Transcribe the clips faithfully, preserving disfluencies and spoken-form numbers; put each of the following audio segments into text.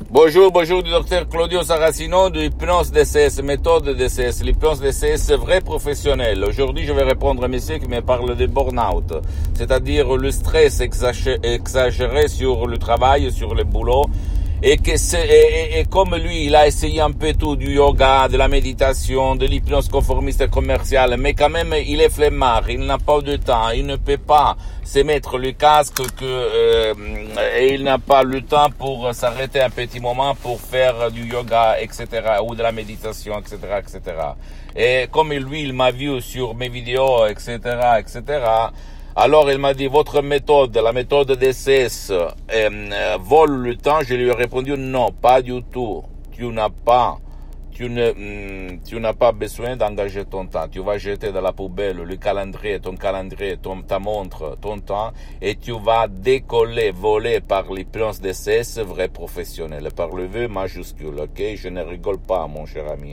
Bonjour, bonjour du docteur Claudio Saracino de l'hypnose D C S, méthode D C S, l'hypnose D C S vrai professionnel. Aujourd'hui, je vais répondre à un monsieur qui me parle de burn-out, c'est-à-dire le stress exagéré sur le travail, sur le boulot. Et, que c'est, et, et, et comme lui, il a essayé un peu tout, du yoga, de la méditation, de l'hypnose conformiste commerciale, mais quand même, il est flemmard, il n'a pas de temps, il ne peut pas se mettre le casque que, euh, et il n'a pas le temps pour s'arrêter un petit moment pour faire du yoga, et cetera, ou de la méditation, et cetera, et cetera. Et comme lui, il m'a vu sur mes vidéos, et cetera, et cetera, alors il m'a dit, votre méthode, la méthode D C S, euh, euh, vole le temps. Je lui ai répondu, non, pas du tout. Tu n'as pas, tu ne, mm, tu n'as pas besoin d'engager ton temps. Tu vas jeter dans la poubelle le calendrier, ton calendrier, ton, ta montre, ton temps, et tu vas décoller, voler par l'hypnose D C S vrai professionnel, par le V majuscule, ok? Je ne rigole pas, mon cher ami.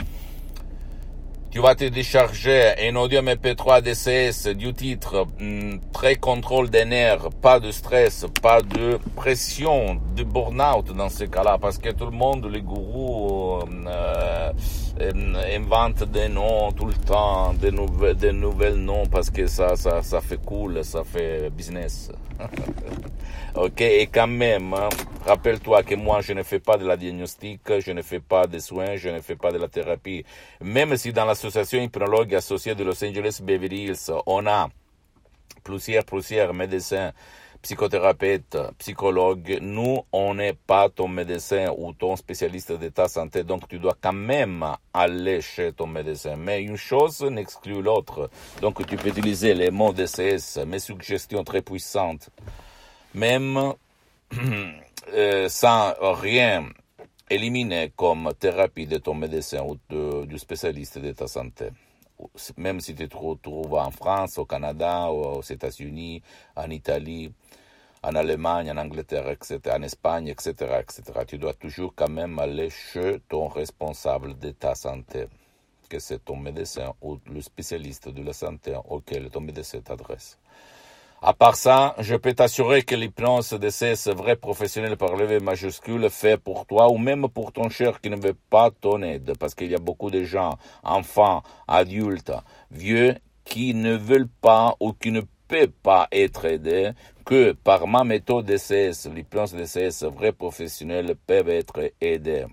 Tu vas te décharger un audio M P trois D C S du titre hum, très contrôle des nerfs, pas de stress, pas de pression, de burn-out dans ce cas-là, parce que tout le monde, les gourous, euh, euh, inventent des noms tout le temps, des nouvelles, des nouvelles noms, parce que ça, ça, ça fait cool, ça fait business. Ok, et quand même, hein, rappelle-toi que moi, je ne fais pas de la diagnostic, je ne fais pas de soins, je ne fais pas de la thérapie. Même si dans l'association hypnologue associée de Los Angeles Beverly Hills, on a plusieurs, plusieurs médecins, psychothérapeutes, psychologues, nous, on n'est pas ton médecin ou ton spécialiste de ta santé, donc tu dois quand même aller chez ton médecin. Mais une chose n'exclut l'autre. Donc tu peux utiliser les mots D C S, mes suggestions très puissantes, même euh, sans rien éliminer comme thérapie de ton médecin ou de, du spécialiste de ta santé. Même si tu te trouves en France, au Canada, aux États-Unis, en Italie, en Allemagne, en Angleterre, et cetera, en Espagne, et cetera, et cetera. Tu dois toujours quand même aller chez ton responsable de ta santé, que c'est ton médecin ou le spécialiste de la santé auquel ton médecin t'adresse. À part ça, je peux t'assurer que l'hypnose D C S vrai professionnel par le V majuscule fait pour toi ou même pour ton cher qui ne veut pas ton aide, parce qu'il y a beaucoup de gens, enfants, adultes, vieux, qui ne veulent pas ou qui ne peuvent pas être aidés, que par ma méthode D C S, l'hypnose D C S vrai professionnel peuvent être aidés.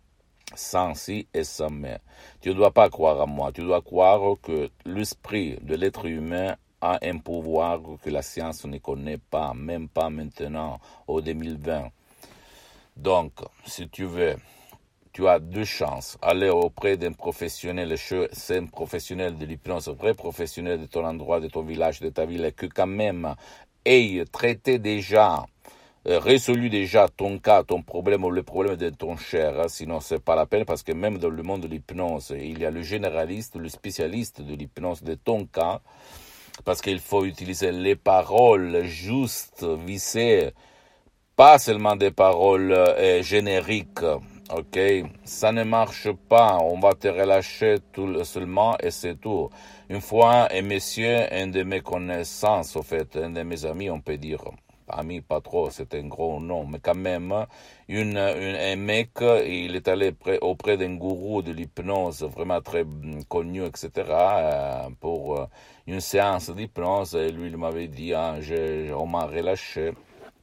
Sans si et sans mais. Tu ne dois pas croire à moi, tu dois croire que l'esprit de l'être humain a un pouvoir que la science ne connaît pas, même pas maintenant, au deux mille vingt. Donc, si tu veux, tu as deux chances. Aller auprès d'un professionnel, c'est un professionnel de l'hypnose, un vrai professionnel de ton endroit, de ton village, de ta ville, que quand même ait traité déjà, euh, résolu déjà ton cas, ton problème ou le problème de ton cher. Hein, sinon, c'est pas la peine, parce que même dans le monde de l'hypnose, il y a le généraliste, le spécialiste de l'hypnose de ton cas, parce qu'il faut utiliser les paroles justes, vissées, pas seulement des paroles euh, génériques, ok? Ça ne marche pas, on va te relâcher tout seulement et c'est tout. Une fois, un monsieur, un de mes connaissances, au fait, un de mes amis, on peut dire, ami pas trop, c'est un gros nom, mais quand même, une, une, un mec, il est allé près, auprès d'un gourou de l'hypnose vraiment très connu, et cetera, euh, pour euh, une séance d'hypnose, et lui, il m'avait dit, hein, je, on m'a relâché.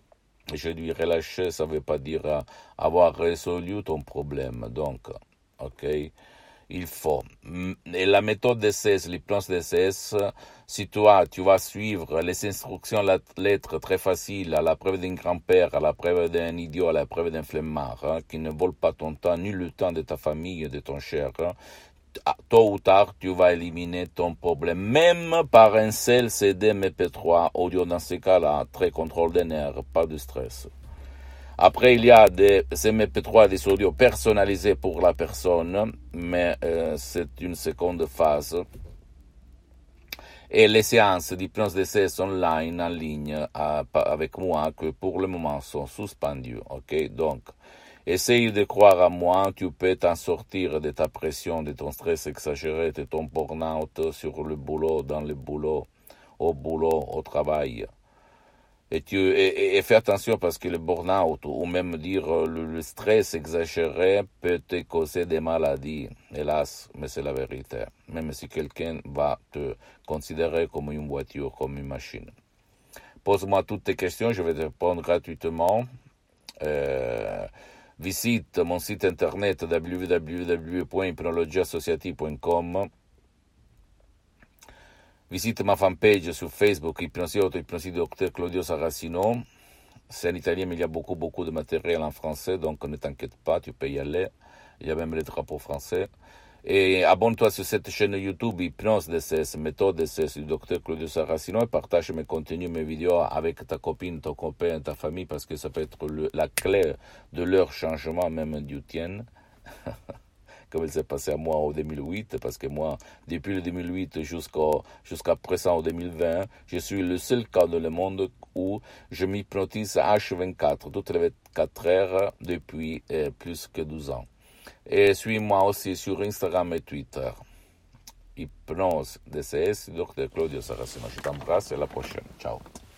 Je lui relâché, ça ne veut pas dire euh, avoir résolu ton problème, donc, ok? Il faut. Et la méthode D C S, l'hypnose D C S, si toi, tu vas suivre les instructions lettres très faciles, à la preuve d'un grand-père, à la preuve d'un idiot, à la preuve d'un flemmard, hein, qui ne vole pas ton temps, ni le temps de ta famille et de ton cher, hein, tôt ou tard, tu vas éliminer ton problème, même par un seul C D M P trois audio dans ce cas-là, très contrôle des nerfs, pas de stress. Après, il y a des M P trois, des audios personnalisés pour la personne, mais euh, c'est une seconde phase. Et les séances d'hypnose D C S online, en ligne, à, avec moi, que pour le moment sont suspendues. Ok, donc, essaye de croire à moi, tu peux t'en sortir de ta pression, de ton stress exagéré, de ton burn-out sur le boulot, dans le boulot, au boulot, au travail. Et, tu, et, et fais attention parce que le burn-out, ou même dire le, le stress exagéré peut te causer des maladies. Hélas, mais c'est la vérité. Même si quelqu'un va te considérer comme une voiture, comme une machine. Pose-moi toutes tes questions, je vais te répondre gratuitement. Euh, visite mon site internet w w w point hypnologie associative point com. Visite ma fanpage sur Facebook, Hypnosie Auto, Hypnosie Docteur Claudio Saracino. C'est en italien, mais il y a beaucoup, beaucoup de matériel en français, donc ne t'inquiète pas, tu peux y aller. Il y a même les drapeaux français. Et abonne-toi sur cette chaîne YouTube, Hypnose D C S, Méthode D C S du Docteur Claudio Saracino, et partage mes contenus, mes vidéos avec ta copine, ton copain, ta famille, parce que ça peut être le, la clé de leur changement, même du tien. Comme il s'est passé à moi en deux mille huit, parce que moi, depuis le deux mille huit jusqu'au, jusqu'à présent, en deux mille vingt, je suis le seul cas dans le monde où je m'hypnotise H vingt-quatre, toutes les vingt-quatre heures, depuis eh, plus que douze ans. Et suis-moi aussi sur Instagram et Twitter. Hypnose D C S, Docteur Claudio Saracino. Je t'embrasse et à la prochaine. Ciao.